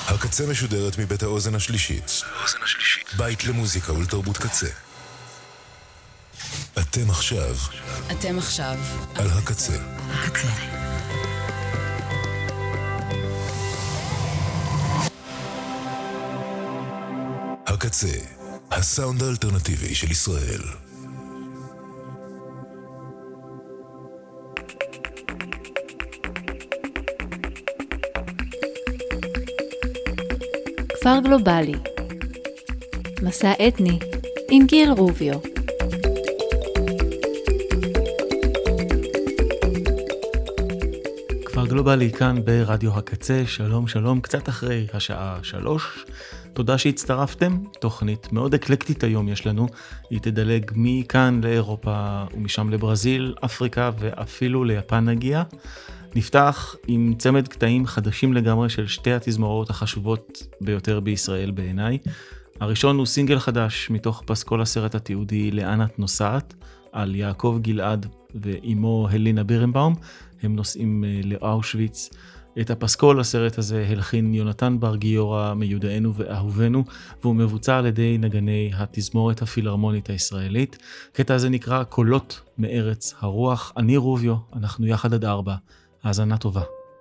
הקצה משודרת מבית האוזן השלישית. בית למוזיקה ולתרבות קצה. אתם עכשיו על הקצה. הקצה, הסאונד האלטרנטיבי של ישראל. כפר גלובלי, מסע אתני עם גיל רוביו. כפר גלובלי כאן ברדיו הקצה, שלום שלום, קצת אחרי השעה 3. תודה שהצטרפתם, תוכנית מאוד אקלקטית היום יש לנו, היא תדלג מכאן לאירופה ומשם לברזיל, אפריקה ואפילו ליפן נגיע. נפתח עם צמד קטעים חדשים לגמרי של שתי התזמורות החשובות ביותר בישראל בעיניי. הראשון הוא סינגל חדש מתוך פסקול הסרט התיעודי לאן את נוסעת, על יעקב גלעד ואימו הלינה בירנבאום. הם נוסעים לאושוויץ. את הפסקול הסרט הזה הלחין יונתן בר גיורא מיודענו ואהובנו, והוא מבוצע על ידי נגני התזמורת הפילהרמונית הישראלית. קטע הזה נקרא קולות מארץ הרוח. אני רוביו, אנחנו יחד עד 4. האזנה טובה.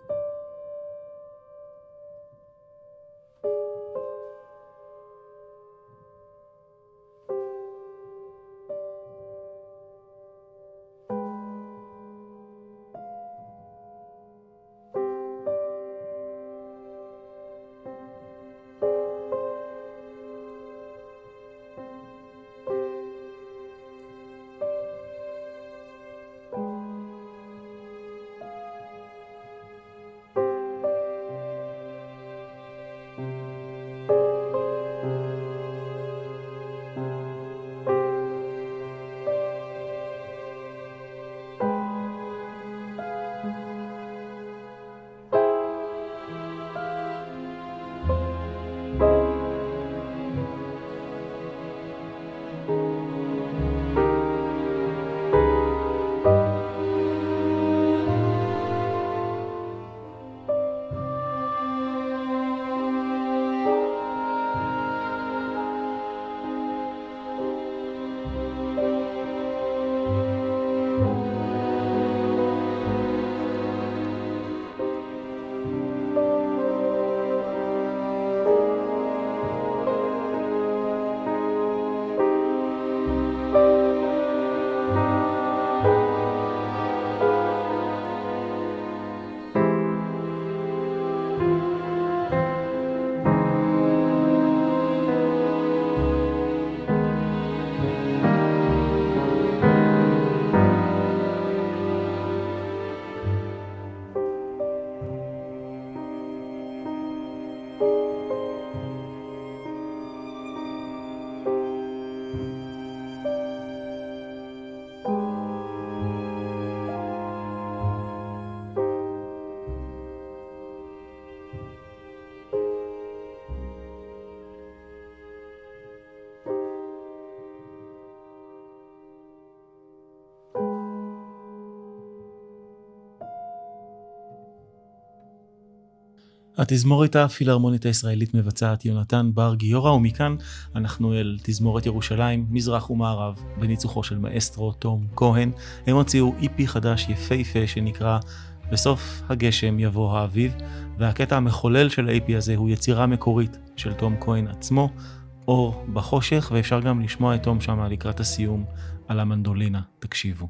התזמורת הפילהרמונית הישראלית מבצעת יונתן בר גיורא, ומכאן אנחנו אל תזמורת ירושלים, מזרח ומערב, בניצוחו של מאסטרו תום כהן. הם הוציאו איפי חדש יפהפה שנקרא בסוף הגשם יבוא האביב, והקטע המחולל של האיפי הזה הוא יצירה מקורית של תום כהן עצמו, אור בחושך, ואפשר גם לשמוע את תום שמה לקראת הסיום על המנדולינה. תקשיבו.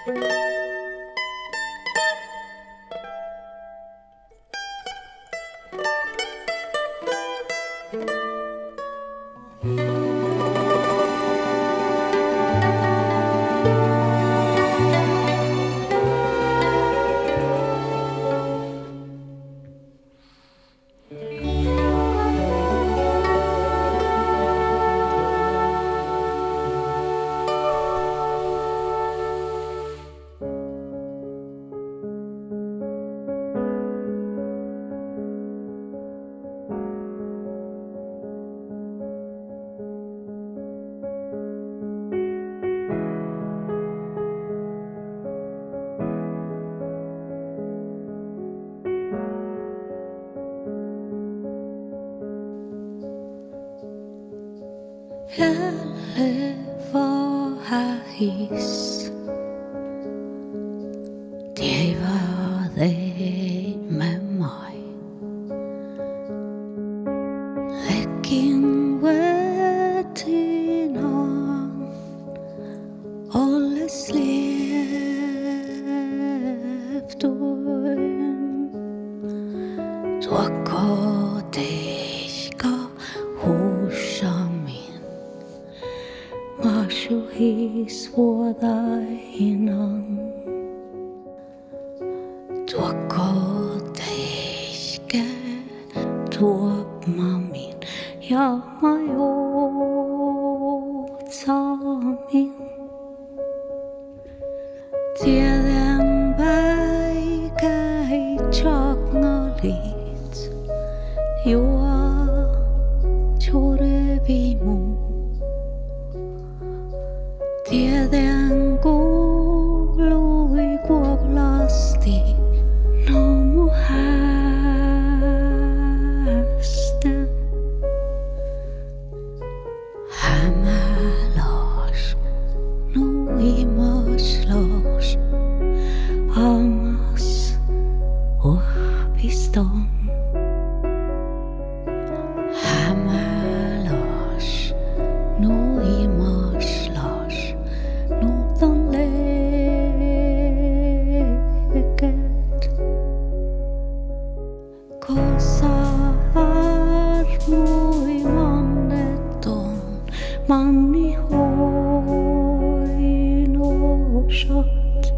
His det var det med mig. Lækken vætten om alle slæft uden. Drukker dækker hos min. Mashu his for thy innan. Drukker dække drop min. Ja, mig min. Tiden vækker i tjokner lidt. Jord tjorde vi må. Tiden golo i gåvlasti. Nå må hasten. Hamalos. Nå i moslos. Amas piston. Hamalos. Nå i moslos. Nå den läget. Kosar mo i manneton. Man i hojn och kött.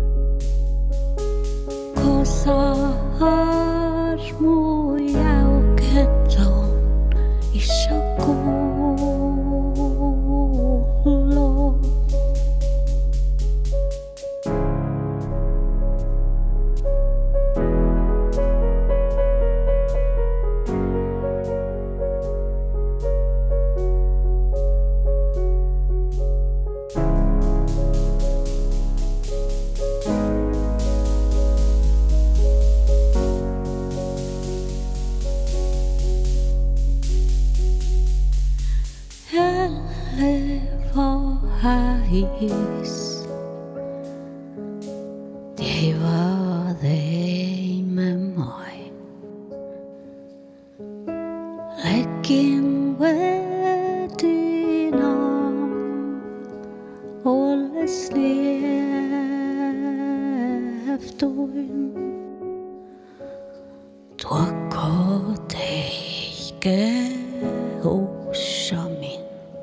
Kosar mo i auketon. I shakolo. His. Det var det med mig. Lækken vætten om alle slæft uden. Drukker dække hos min.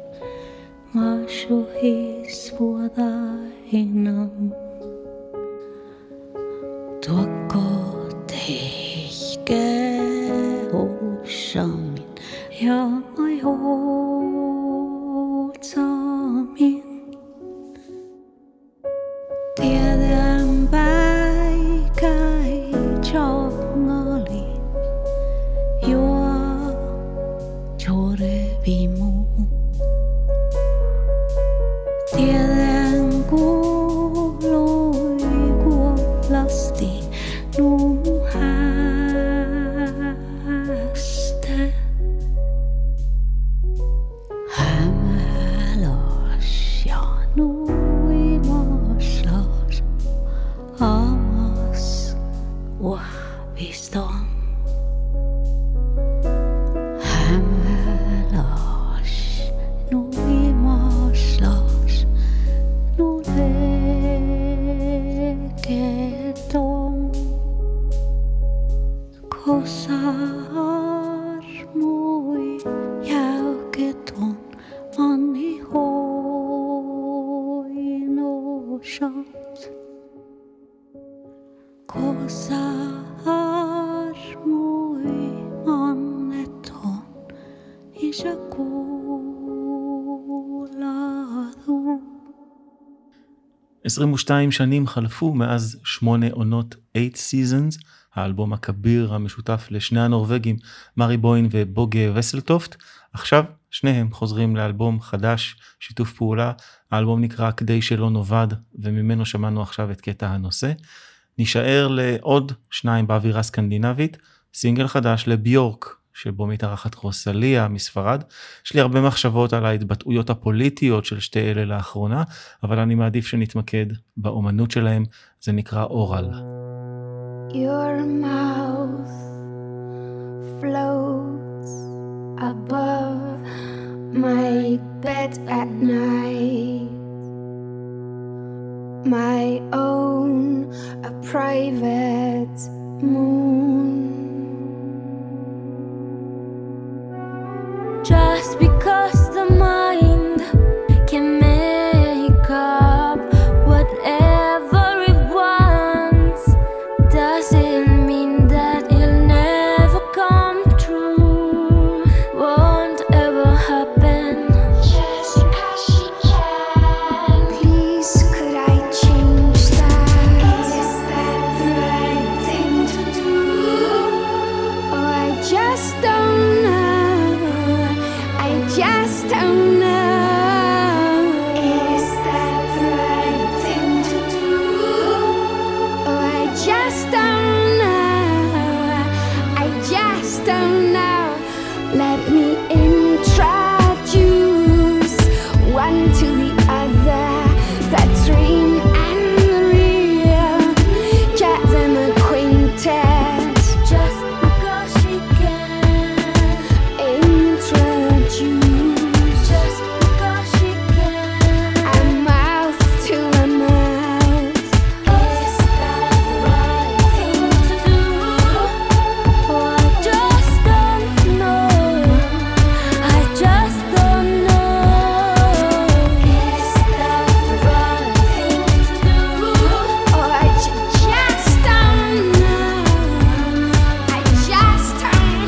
Mashu his for thy innan. Drukker dække hos min. Ja, mig hos min. Tiden vækker i tjokner lidt. Jord shot kosar moi anneton ishakuladum. 22 שנים חלפו מאז 8 עונות 8 Seasons, האלבום הכביר המשותף לשני הנורווגים מרי בוין ובוגה וסלטופט. עכשיו שניהם חוזרים לאלבום חדש, שיתוף פעולה. האלבום נקרא כדי שלא נובד, וממנו שמענו עכשיו את קטע הנושא. נשאר לעוד 2 באווירה סקנדינבית, סינגל חדש לביורק, שבו מתארחת רוסליה מספרד. יש לי הרבה מחשבות על ההתבטאויות הפוליטיות של שתי אלה לאחרונה, אבל אני מעדיף שנתמקד באומנות שלהם. זה נקרא אורל. Your mouth floats above my bed at night, my own, a private moon. Just because the mind can make up whatever it wants doesn't mean that it'll never come true, won't ever happen. Just because she can. Please, could I change that? Is that the right thing to do? Oh, I just don't know. I just don't know. Is that the right thing to do? Oh, I just don't know. I just don't know. Let me introduce one to the other, that dream and the real, chat them acquainted. Just because she can introduce, just because she can, a mouth to a mouth. Is that the right thing to do? Oh, I just don't know. I just don't know. Is that the right thing to do? Oh, I just don't know. I just don't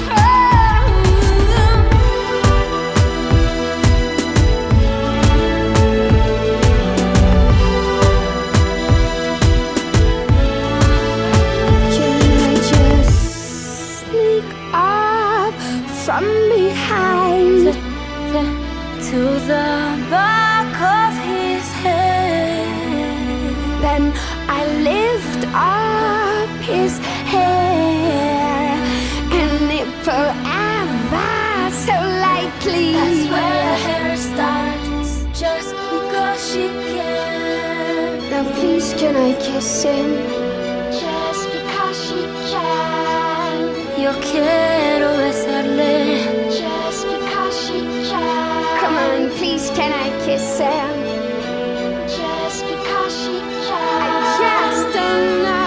Can I just sneak up from behind to the back of his head? Then I lift up his hair and nipple ever so lightly. That's where the hair starts, just because she can. Now please, can I kiss him? Just because she can. Yo quiero besarle. Just because she can. Come on, please, can I kiss him? Just because she can. I just don't know.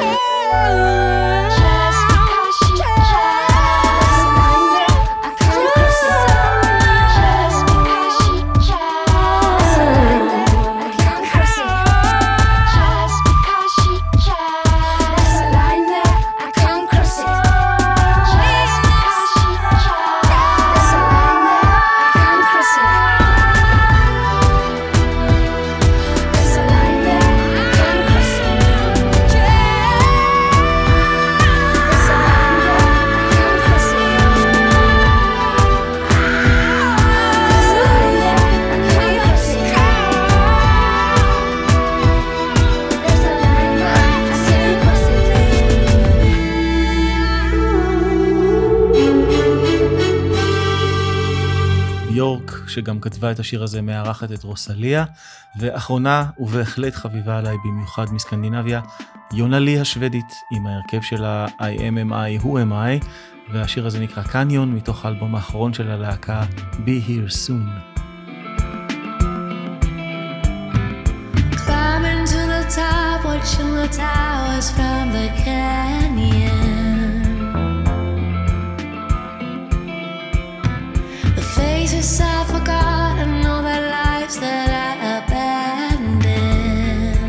Just because she can. There's a line there, I can't cross it. Just because she can. There's a line there, I can't cross it. Just because she can. There's a line there, I can't cross it. Just because she can. There's a line there, I can't cross it. There's a line there, I can't cross it. There's a line there, I can't cross it. There's a line there, I can't cross it. There's a line there, I can't cross it. ביורק, שגם כתבה את השיר הזה, מארחת את רוסליה. ואחרונה, ובהחלט חביבה עליי במיוחד מסקנדינביה, יונה לי השוודית, עם ההרכב שלה I am I, who am I, והשיר הזה נקרא קניון, מתוך האלבום האחרון של הלהקה Be Here Soon. Climbing to the top, watching the towers from the canyon. The faces I forgot and all the lives that I abandoned.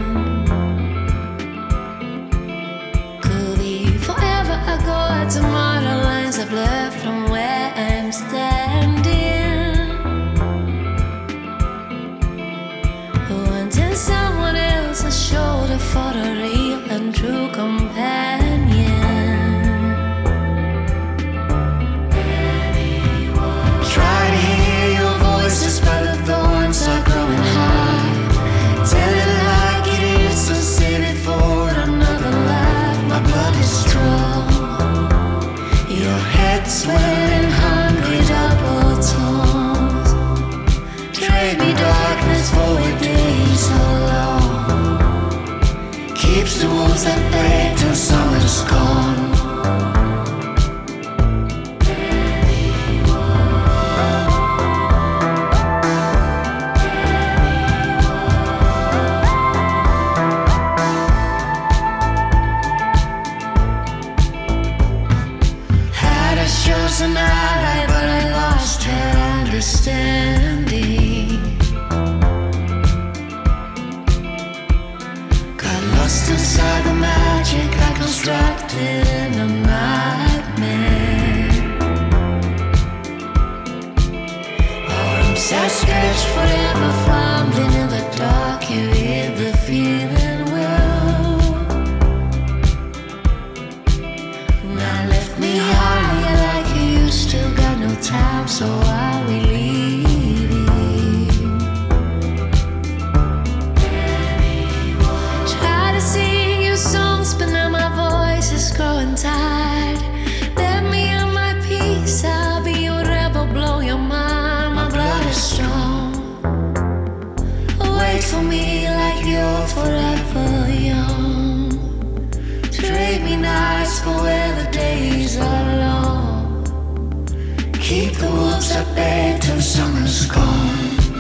keeps the wolves at bay till summer's gone. An ally, but I lost her understanding. Got lost inside the magic I constructed in a nightmare. Arms outstretched, forever fumbling in the dark. You hear the feeling well. Now left me high like you still got no time, so are we leaving? Try to sing you songs, but now my voice is growing tired. Let me on my peace, I'll be your rebel, blow your mind. My blood is strong. Wait for me like you're forever young. Trade me nights for where the days are long. Keep the wolves at bay till summer's gone.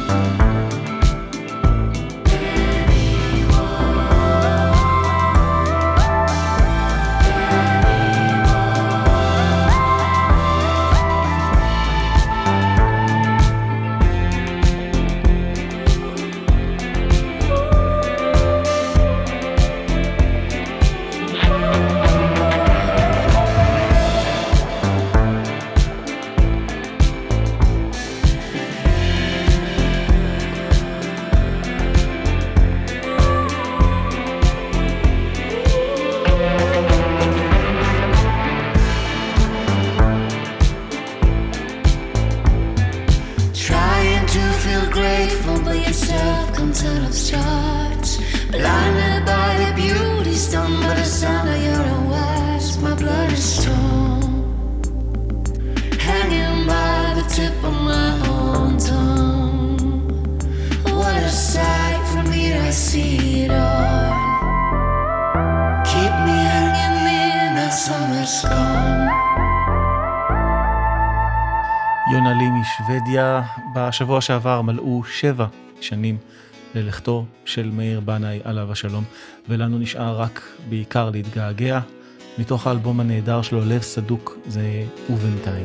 יונה לי משוודיה, בשבוע שעבר מלאו 7 שנים ללכתו של מאיר בנאי עליו השלום, ולנו נשאר רק בעיקר להתגעגע. מתוך האלבום הנהדר שלו, לב סדוק, זה ובינתיים.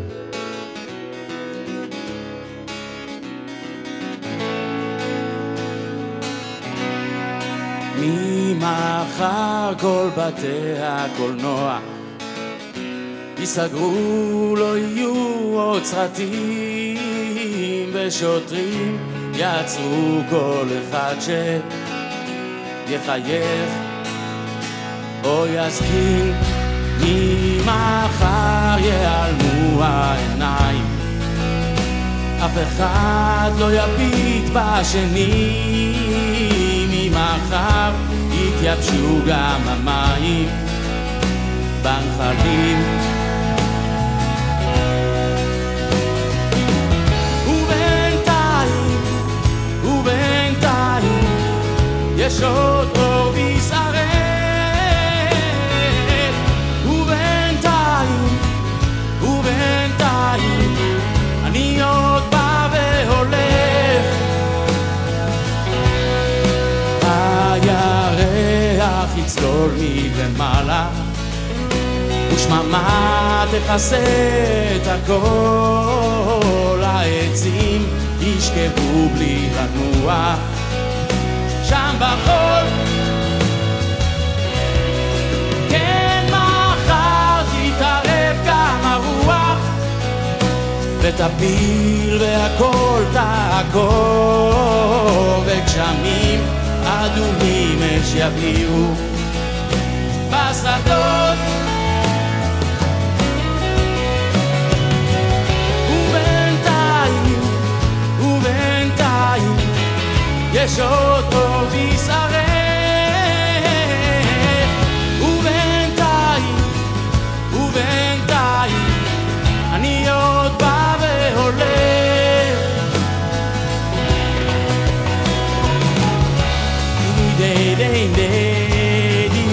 ממחר כל בתי הקולנוע ייסגרו, לא יהיו עוד סרטים, ושוטרים יעצרו כל אחד שיחייך או יזכיר. ממחר ייעלמו העיניים, אף אחד לא יביט בשני. ממחר יתייבשו גם המים בנחלים, ובינתיים יש עוד אור בישראל. ובינתיים אני עוד בא והולך. הירח יצלול מלמעלה, ושממה תכסה את הכל. העצים ישכבו בלי לנוע שם בחול. כן, מחר תתערב גם הרוח ותפיל והכל תעקור, וגשמים אדומים אש יביאו בשדות. ובינתיים יש עוד אור בישראל. ובינתיים אני עוד בא והולך. די די די די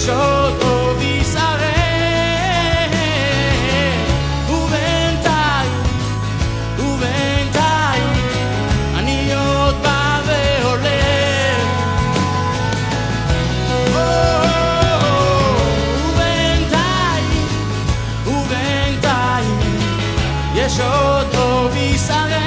יש עוד טוב ישראל, ובינתיים אני עוד בא והולך, ובינתיים יש עוד טוב ישראל,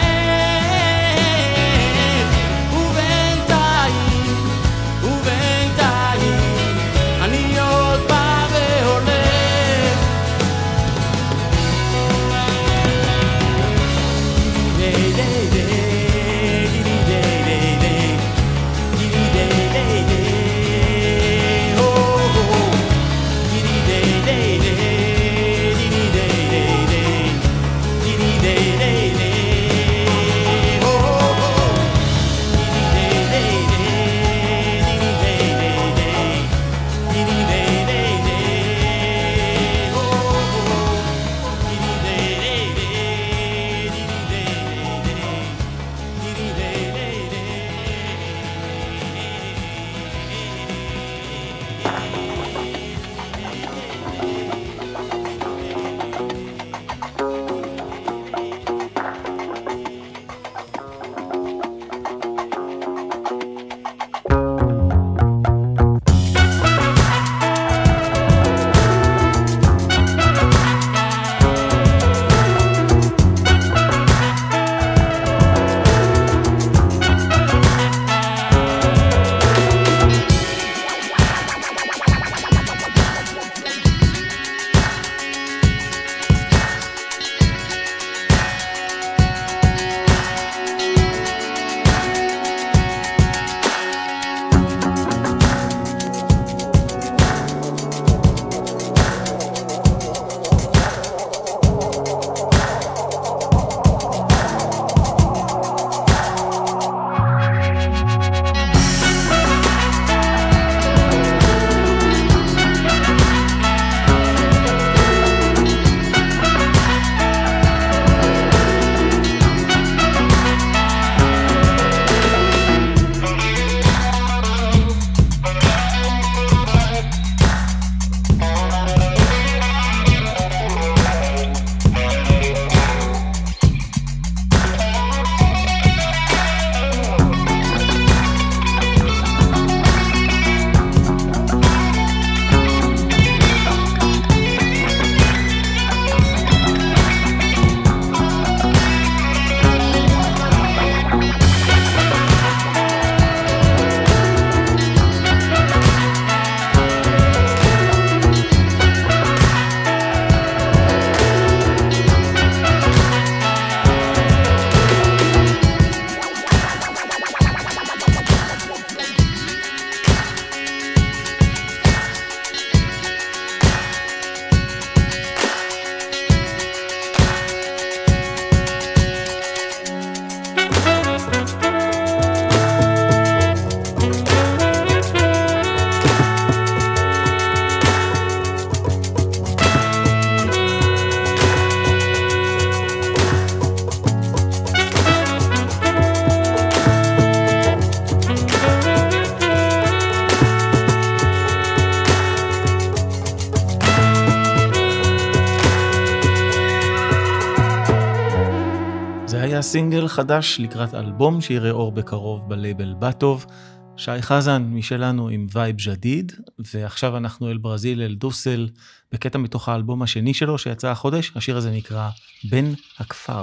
סינגל חדש לקראת אלבום שיראה אור בקרוב בלייבל בטוב. שי חזן משלנו עם וייב ג'דיד, ועכשיו אנחנו אל ברזיל, אל דוסל, בקטע מתוך האלבום השני שלו שיצא החודש. השיר הזה נקרא בן הכפר.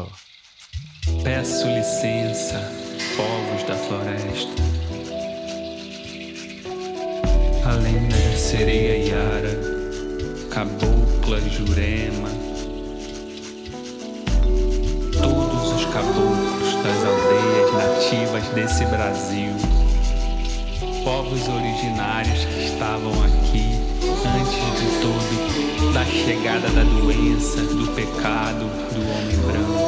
Peço licença, povos da floresta, a lenda da sereia Yara, cabocla Jurema, todos os caboclos das aldeias nativas desse Brasil, povos originários que estavam aqui antes de tudo, da chegada da doença, do pecado, do homem branco.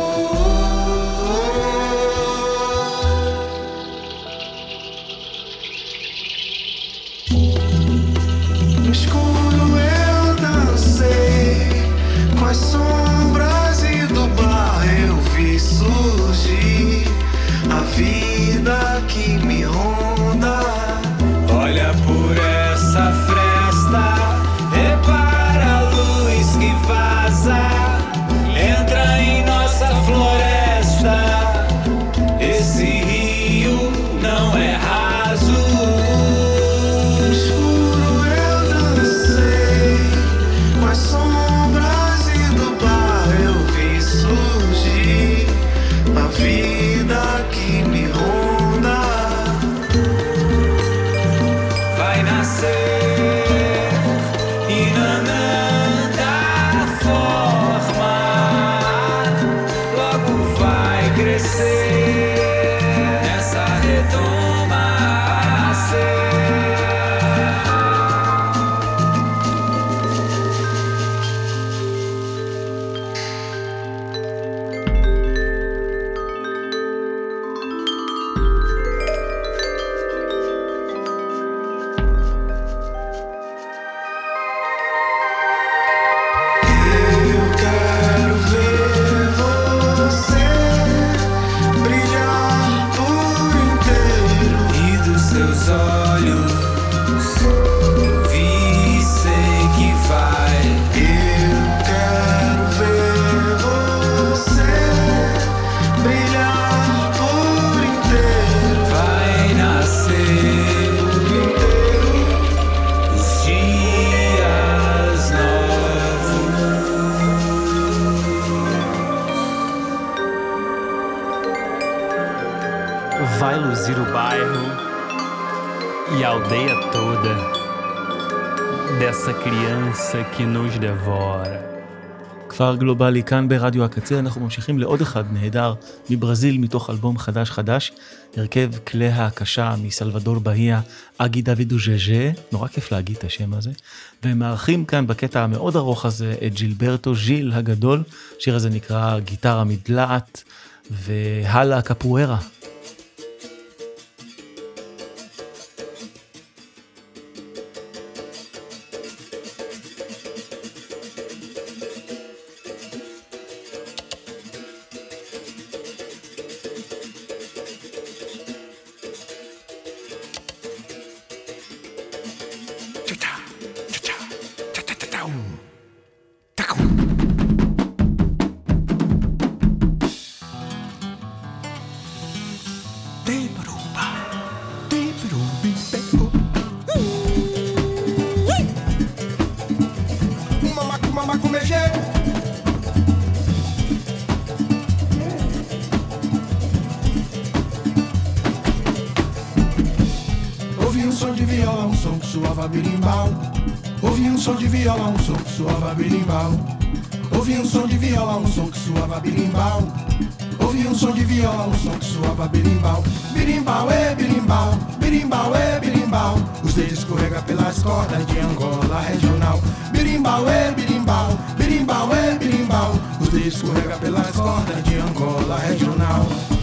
No escuro eu dancei com as sombras e do bar eu vi surgir a vida que me ronda. Olha por essa fresta. luzir o bairro e a aldeia toda dessa criança que nos devora. כפר גלובלי כאן ברדיו הקצה, אנחנו ממשיכים לעוד אחד נהדר מברזיל מתוך אלבום חדש, הרכב כלי ההקשה מסלבדור בהיה, אגי דוידו ז'ז'ה, נורא כיף להגיד את השם הזה, והם מארחים כאן בקטע המאוד ארוך הזה את ג'ילברטו ז'יל הגדול, שיר הזה נקרא גיטרה מדלעת, והלה קפוארה. Os dedos escorrega pelas cordas de Angola regional. Birimbau, birimbau, birimbau, birimbau. Os dedos escorrega pelas cordas de Angola regional.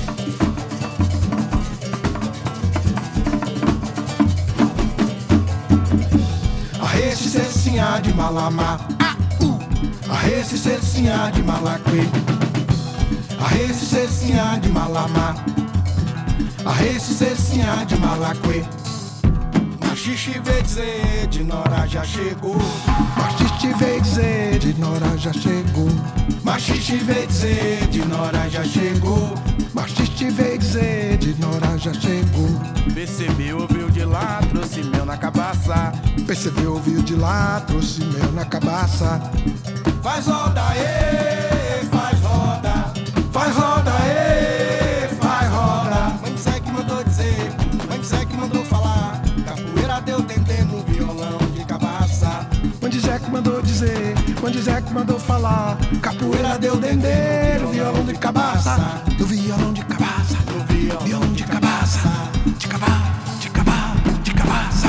Arreste cecinha de Malamá, arreste cecinha de Malaquê, arreste cecinha de Malamá, arreste cecinha de Malaquê. Machixe veio dizer, de Nora já chegou. Machixe veio dizer, de Nora já chegou. Machixe veio dizer, de Nora já chegou. Machixe veio dizer, de Nora já chegou. Percebeu, ouviu de lá, trouxe mel na cabaça. Percebeu, ouviu de lá, trouxe mel na cabaça. Faz roda, faz roda. Faz roda, faz roda. Mãe Zé que mandou dizer, mãe Zé que mandou falar. Deu dendê no violão de cabaça. Onde Zé que mandou dizer, onde Zé que mandou falar. Capoeira deu dendê no violão de cabaça. Do violão de cabaça, do violão de cabaça. De cabaça, de cabaça, de cabaça.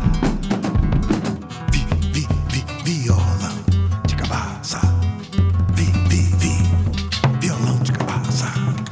Violão de cabaça. Violão de cabaça.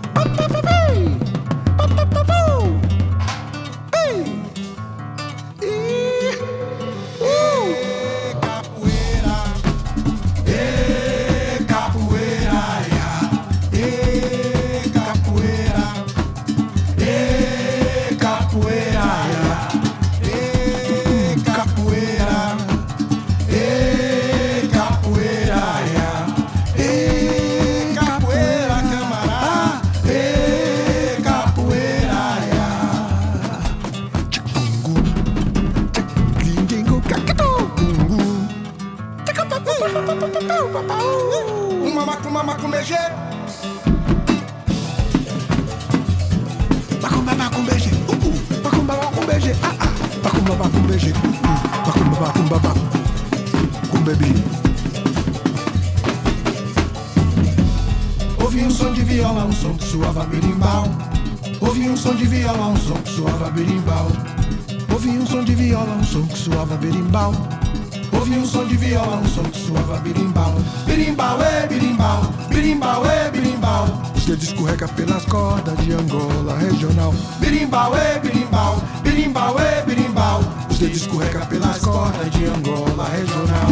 Ouvi um som de violão, um som que suava berimbau. Ouvi um som de violão, um som que suava berimbau. Ouvi um som de violão, um som que suava berimbau. Ouvi um som de violão, um som que suava berimbau. Berimbau, berimbau, berimbau, berimbau. Os dedos escorrega pelas cordas de Angola regional. Berimbau, berimbau, berimbau, berimbau. Os dedos escorrega pelas cordas de Angola regional.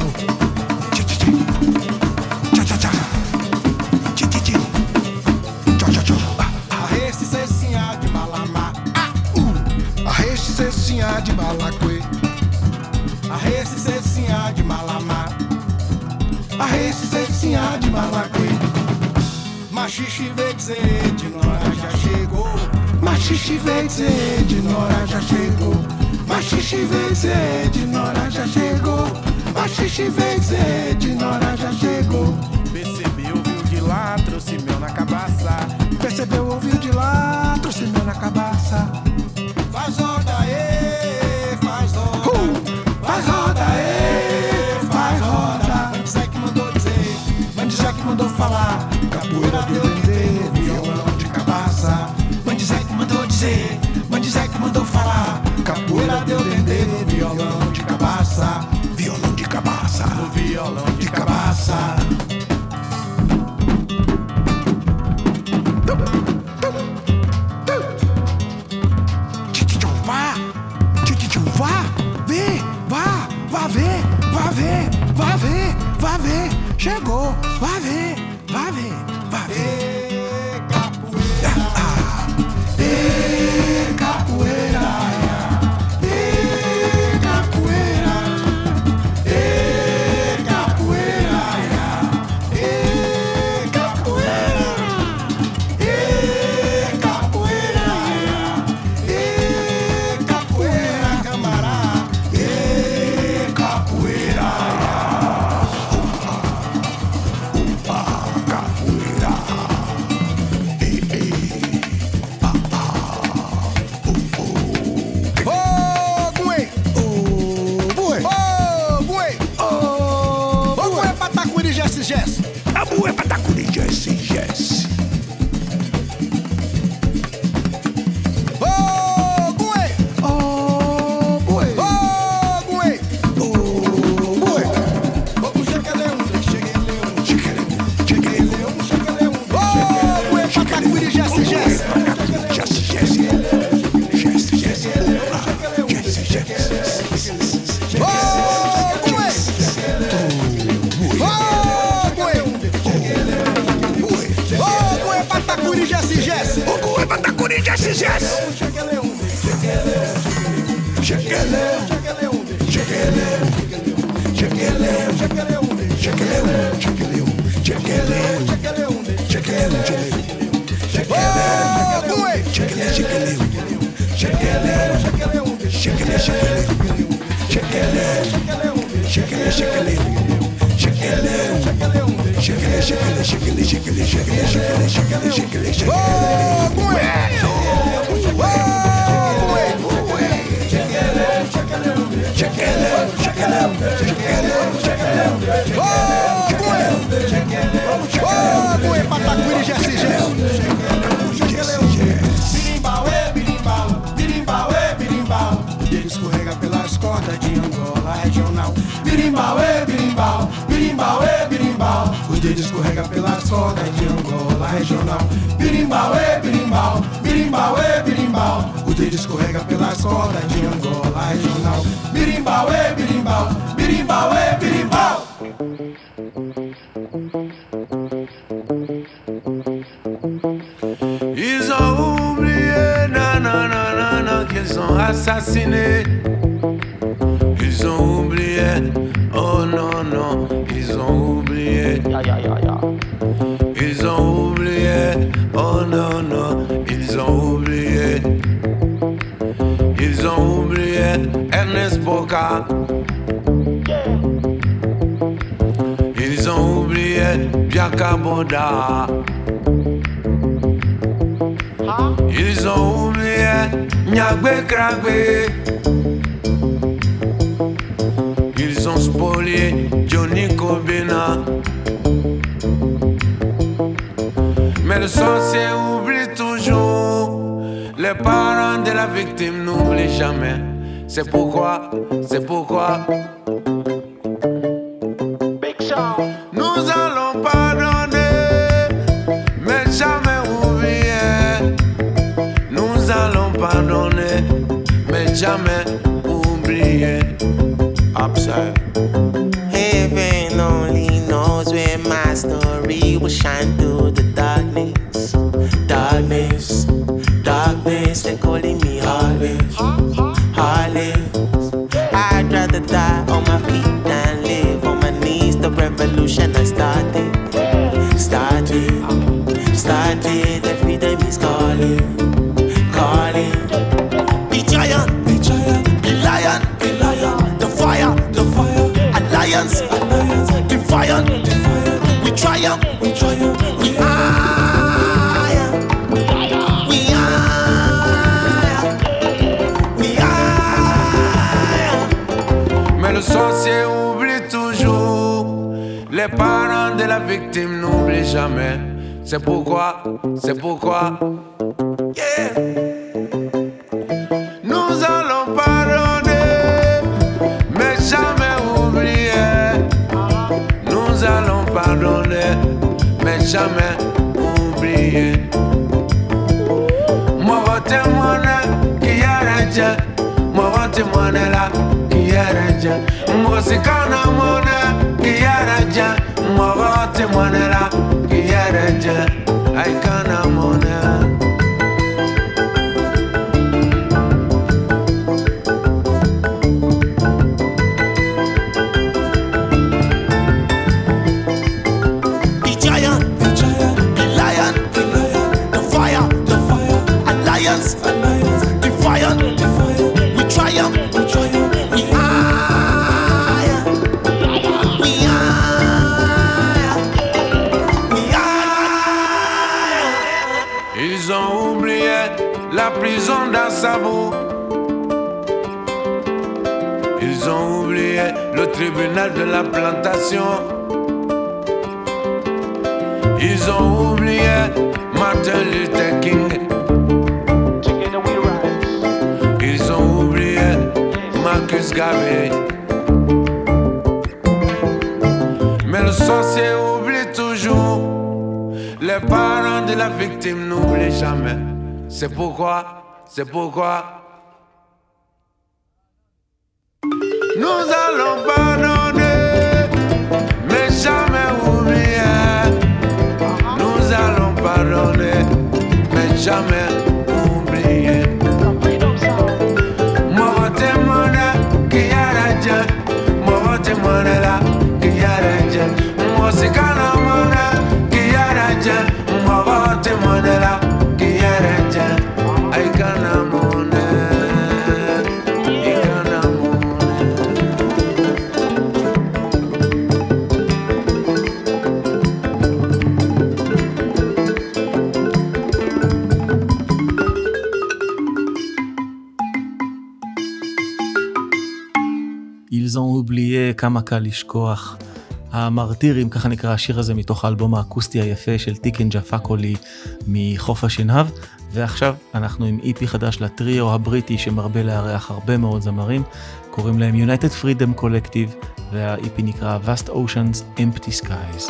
Arreste cecinha de Malamá, arreste cecinha de Malaquê, arreste cecinha de Malamá, arreste cecinha de Malaquê. Machixe veio dizer, de Nora já chegou. Machixe veio dizer, de Nora já chegou. Machixe veio dizer, de Nora já chegou. Machixe veio dizer, de Nora já chegou. Percebeu, ouviu de lá, trouxe mel na cabaça. Percebeu, ouviu de lá, trouxe mel na cabaça. oh, vai ver, vai ver, vai ver. Capoeira, capoeira, capoeira, capoeira, capoeira, camarada, capoeira, capoeira. Jess. A boa é patacuri Jesse, Jesse. Oh, boy. Oh, boy. Oh, boy. Oh, boy. Vamos chegar leão, cheguei leão, cheguei leão, cheguei leão. Oh, boy, patacuri Jesse, Jesse. Jesse, Jesse. Jesse, Jesse. Jesse, Jesse. Oh, boy. Patacuri Jesse Jesse. O cu é Patacuri Jesse Jesse. Chegueleum. Chegueleum. Chegueleum. Chegueleum. Chegueleum. Chegueleum. Chegueleum. Chegueleum. Chegueleum. Patacuri Jesse Jesse. Birimbau, ele escorrega pelas cordas de Angola regional. Birimbau, birimbau, birimbau, o dedo escorrega pelas cordas de Angola regional. Birimbau, birimbau, birimbau, o dedo escorrega pelas cordas de Angola regional. Birimbau, birimbau, birimbau. Ils ont oublié, nanana, qu'ils ont assassiné. Ils ont oublié, oh non, ils ont oublié. Ils ont oublié, oh non, ils ont oublié. Ils ont oublié Ernest Boca. Ils ont oublié Bianca Boda. Ils ont oublié Nyagbe Kragbe. Ils ont spolié Johnny Kobena. Mais le sorcier oublie toujours. Les parents de la victime n'oublient jamais. C'est pourquoi nous allons pardonner, mais jamais oublier. Nous allons pardonner, mais jamais oublier. Upside. Heaven only knows where my story will shine through the darkness. Darkness, they're calling me always. I'd rather die on my feet than live on my knees. The revolution has started. Every day is calling. Be giant, be lion, the fire, alliance, defiant, we triumph, we are. Mais le sorcier oublie toujours. Les parents de la victime n'oublient jamais. C'est pourquoi, yeah. Nous allons pardonner, mais jamais oublier. Nous allons pardonner, mais jamais oublier. Moi, votre témoin qui a arrêté, moi, votre témoin là qui Kiaraja, Mosikana Mona, Kiaraja, Morote Monera, Kiaraja, Aikana Mona. Ils ont oublié la prison d'Assabo. Ils ont oublié le tribunal de la plantation. Ils ont oublié Martin Luther King. Ils ont oublié Marcus Garvey. Mais le sorcier oublie toujours. Les parents de la victime n'oublient jamais. C'est pourquoi nous allons pardonner, mais jamais oublier. Nous allons pardonner, mais jamais oublier. Morote mona kiyaraja, morote mona la kiyaraja, mosikana mona kiyaraja, morote mona la kiyaraja, aikana mona, aikana mona. Ils ont oublié כמה קל לשכוח. המרטירים, ככה נקרא השיר הזה מתוך האלבום האקוסטי היפה של טיקן ג'פקולי מחוף השנהב, ועכשיו אנחנו עם איפי חדש לטריו הבריטי שמרבה לארח הרבה מאוד זמרים, קוראים להם United Freedom Collective, והאיפי נקרא Vast Oceans Empty Skies.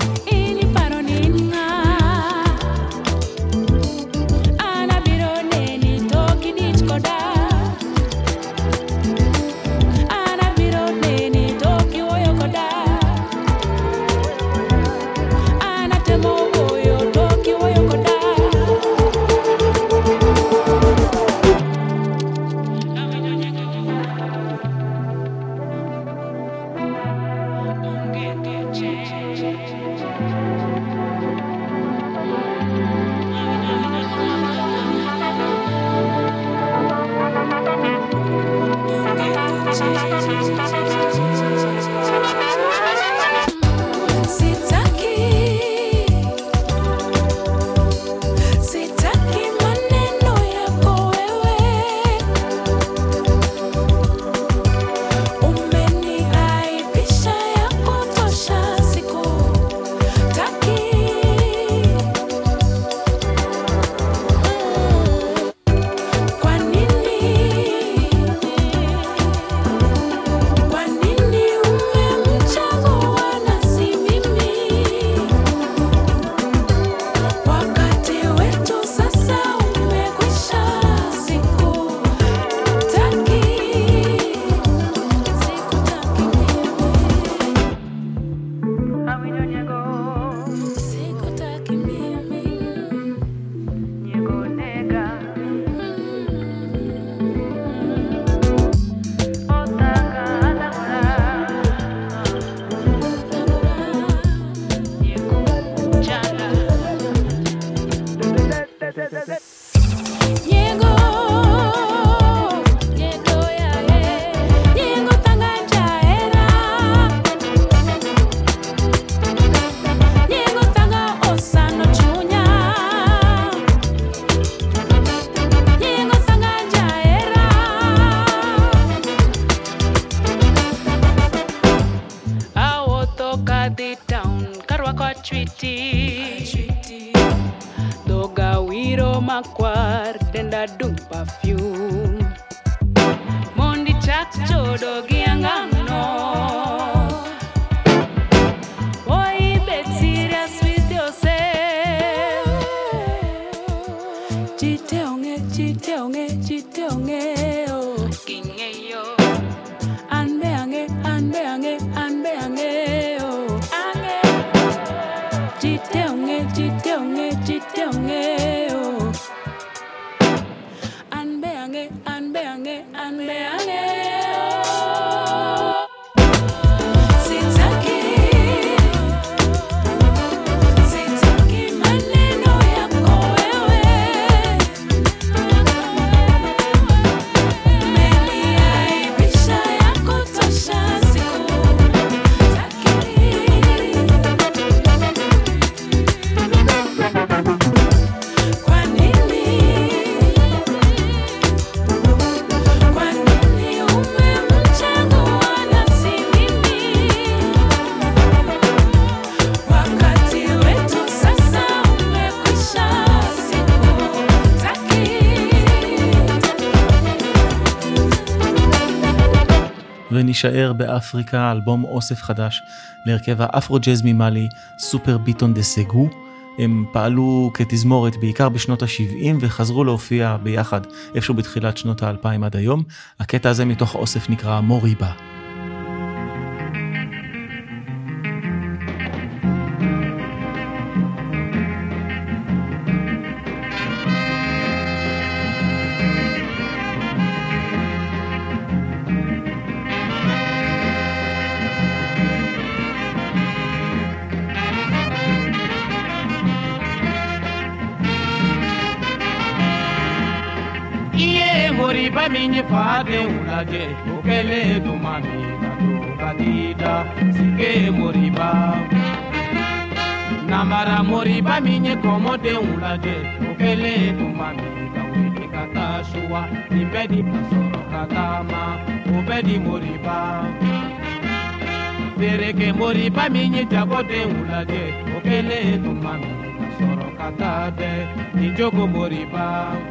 Ana biro ne makwar denda dum perfume mondi chak chodo gi angangno. Oi bet serious with yourself. Chite onge oh kinge yo anbe ange oh ange chite onge oh anbe ange oh sitaki maneno yako wewe umeniaibisha ya kutosha ונשאר באפריקה, אלבום אוסף חדש להרכב האפרו-ג'אז ממאלי, סופר ביטון דה סגו. הם פעלו כתזמורת בעיקר בשנות ה-70 וחזרו להופיע ביחד איפשהו בתחילת שנות ה-2000 עד היום. הקטע הזה מתוך אוסף נקרא מוריבה. Moriba minye fade ulaje ukele dumani katu kadida sike moriba namara moriba minye komode ulaje ukele dumani kawiti katashua nibedi pasoro katama ubedi moriba Pereke moriba minye jagode ulaje ukele dumani kasoro katade nijogo moriba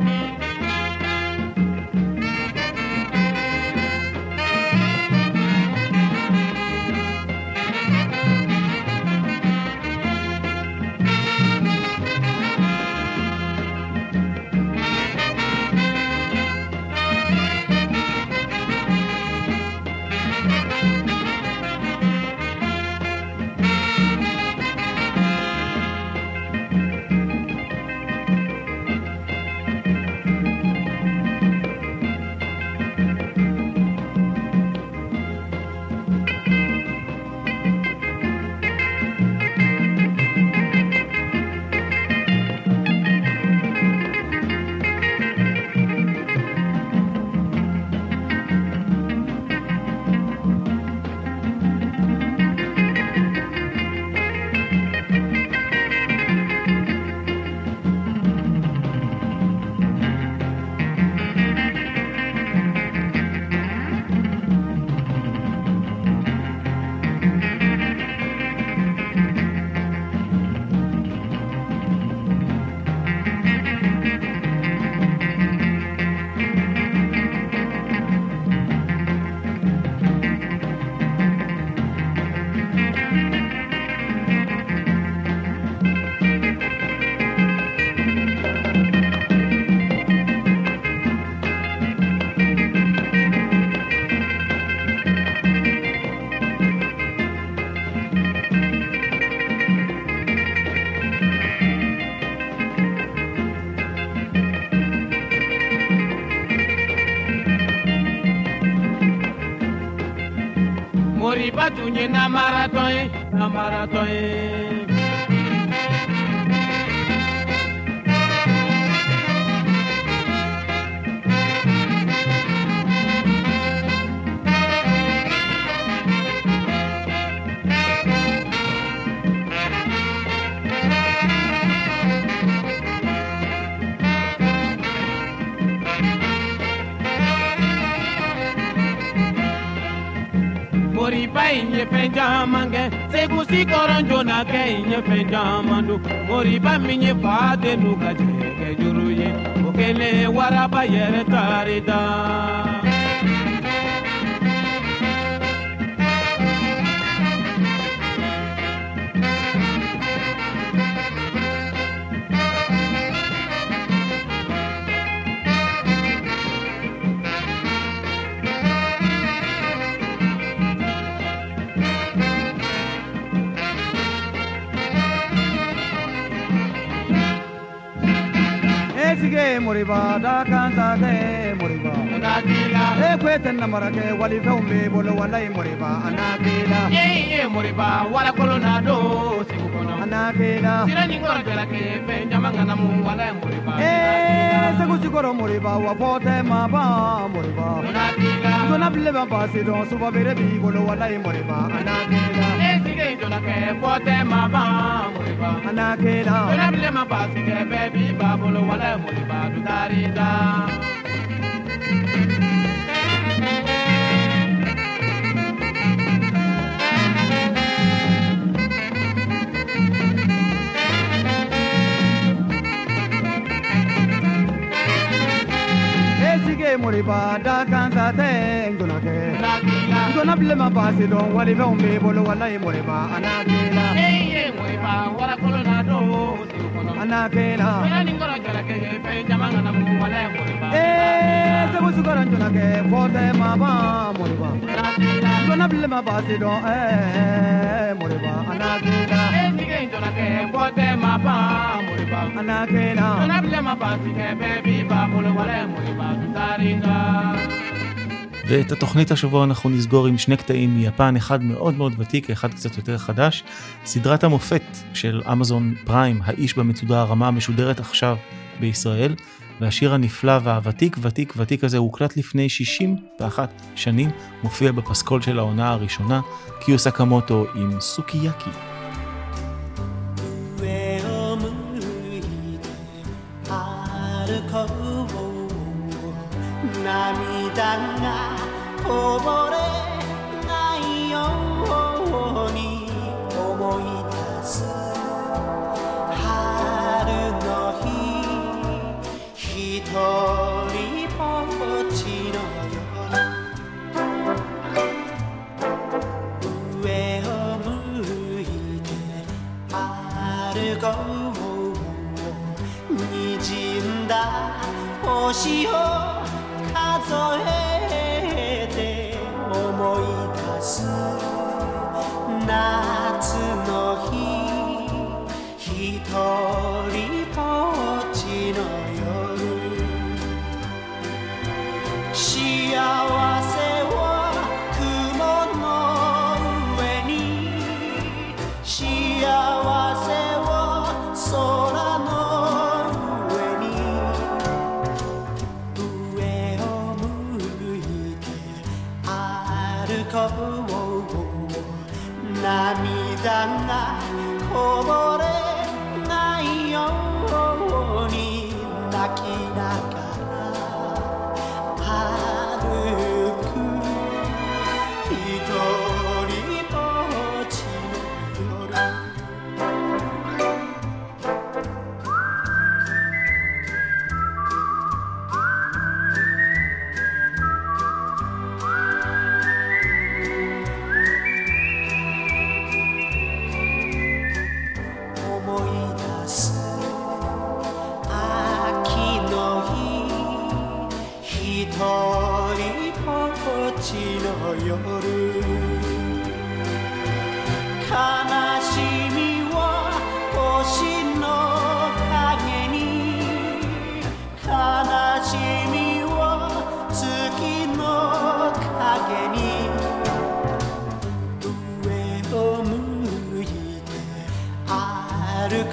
Moriba tunye na marathon Moriba inye penjamange segusi koronjo na ke inye penjamandu Moriba minye fade nuka jeke juruye okele waraba yere tarida Sige moriba da kanta de moriba anakila e kwete na marake wali feumbe bolo wala moriba anakila moriba wala kolonado sikukono anakila sirani ngoro jela ke penjamanga na mu wala moriba segusi koro moriba wa pote maba moriba anakila dona bile ba pasi don suba bere bi bolo wala moriba anakila sige dona ke pote maba moriba anakila dona bile ma pasi ke baby ba bolo wala moriba du darida Sige moriba da kanta te ndona ke dona bile ma pasi don wali feumbe bolo wala moriba anakila moriba wala kolonado sikukono anakila sirani ngoro jela ke penjamanga na mu wala moriba segusi koro ndona ke pote maba moriba dona bile ma pasi don moriba anakila sige dona ke pote maba moriba anakila dona bile ma pasi ke baby ba bolo wala moriba du darida ואת התוכנית השבוע אנחנו נסגור עם שני קטעים מיפן, אחד מאוד מאוד ותיק, אחד קצת יותר חדש. סדרת המופת של אמזון פריים, האיש במצודה הרמה, משודרת עכשיו בישראל, והשיר הנפלא והוותיק, ותיק, ותיק הזה, הוא הוקלט לפני 61 שנים, מופיע בפסקול של העונה הראשונה, קיו סקמוטו עם סוקיאקי. こぼれないように思い出す春の日一人ぼっちの夜上を向いて歩こう滲んだ星を数え思い出す夏の日一人ぼっちの夜幸せを雲の上に幸せを空の上に上を向いて歩こう涙がこぼれないように泣きながら歩く一人ぼっちの夜悲しみは星の影に悲しみは月の影に上を向いて歩こ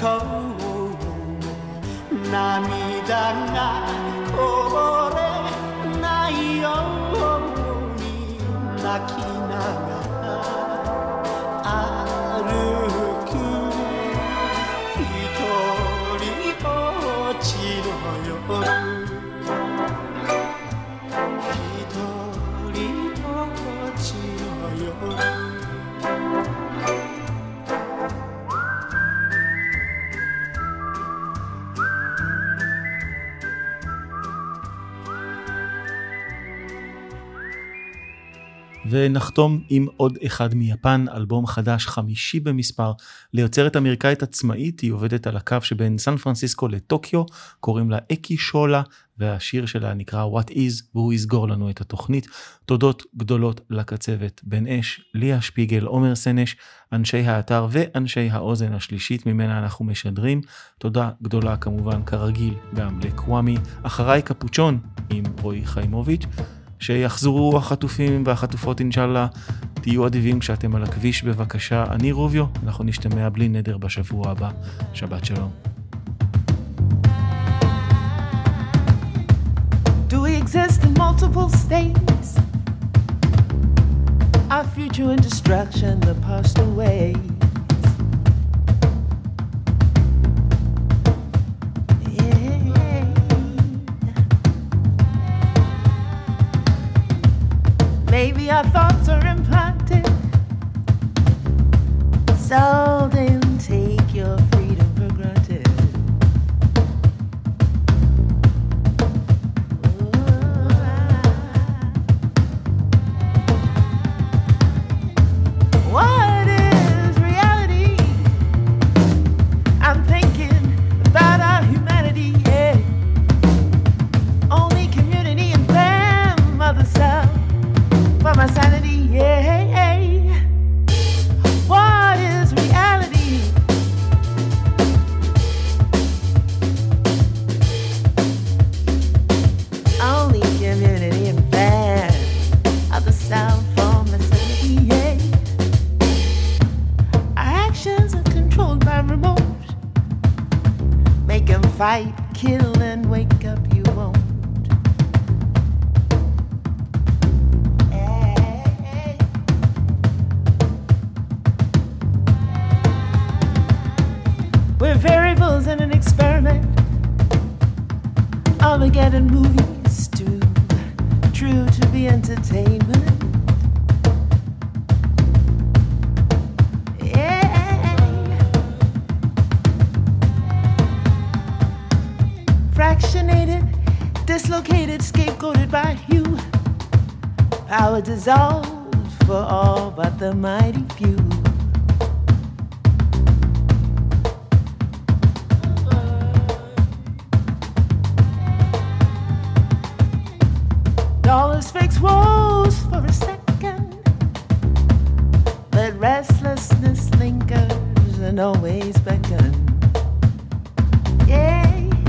う涙がこぼれないように泣きながら歩く一人ぼっちの夜一人ぼっちの夜 ונחתום עם עוד אחד מיפן, אלבום חדש 5 במספר, ליוצרת אמריקאית עצמאית, היא עובדת על הקו שבין סן פרנסיסקו לטוקיו, קוראים לה אקי שולה, והשיר שלה נקרא What Is, והוא יסגור לנו את התוכנית. תודות גדולות לקצבת בן אש, ליה שפיגל, עומר סנש, אנשי האתר ואנשי האוזן השלישית ממנה אנחנו משדרים. תודה גדולה כמובן כרגיל גם לקוואמי, אחריי קפוצ'ון עם רועי חיימוביץ'. שיחזרו החטופים והחטופות אינשאללה, תהיו אדיבים כשאתם על הכביש בבקשה. אני רוביו, אנחנו נשתמע בלי נדר בשבוע הבא. שבת שלום. Do we exist in multiple states? Our future in destruction, the past away. Maybe our thoughts are implanted, so then take your freedom for granted. What is reality? I'm thinking about our humanity, yeah. Only community and fam, mother self. For my sanity, yeah. What is reality? Only community and fan of the South for my sanity, yeah. Our actions are controlled by remote. Make 'em fight, kill, and wake up, you won't. We're variables in an experiment. Armageddon movies too true to be entertainment. Yeah. Fractionated, dislocated, scapegoated by you. Power dissolved for all but the mighty few. Dollars fix woes for a second, but restlessness lingers and always beckon. Yeah.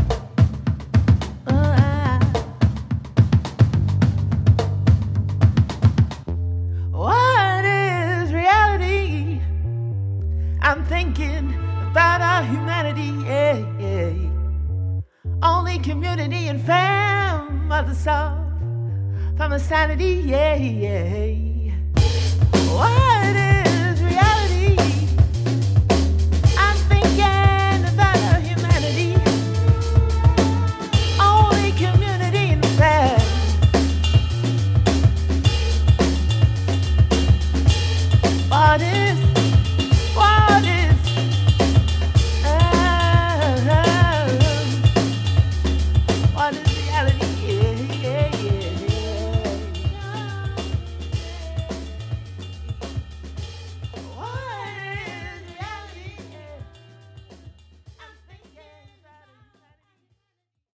What is reality? I'm thinking about our humanity, yeah, yeah. Only community and fam are the soul. From the sanity, yeah, yeah. What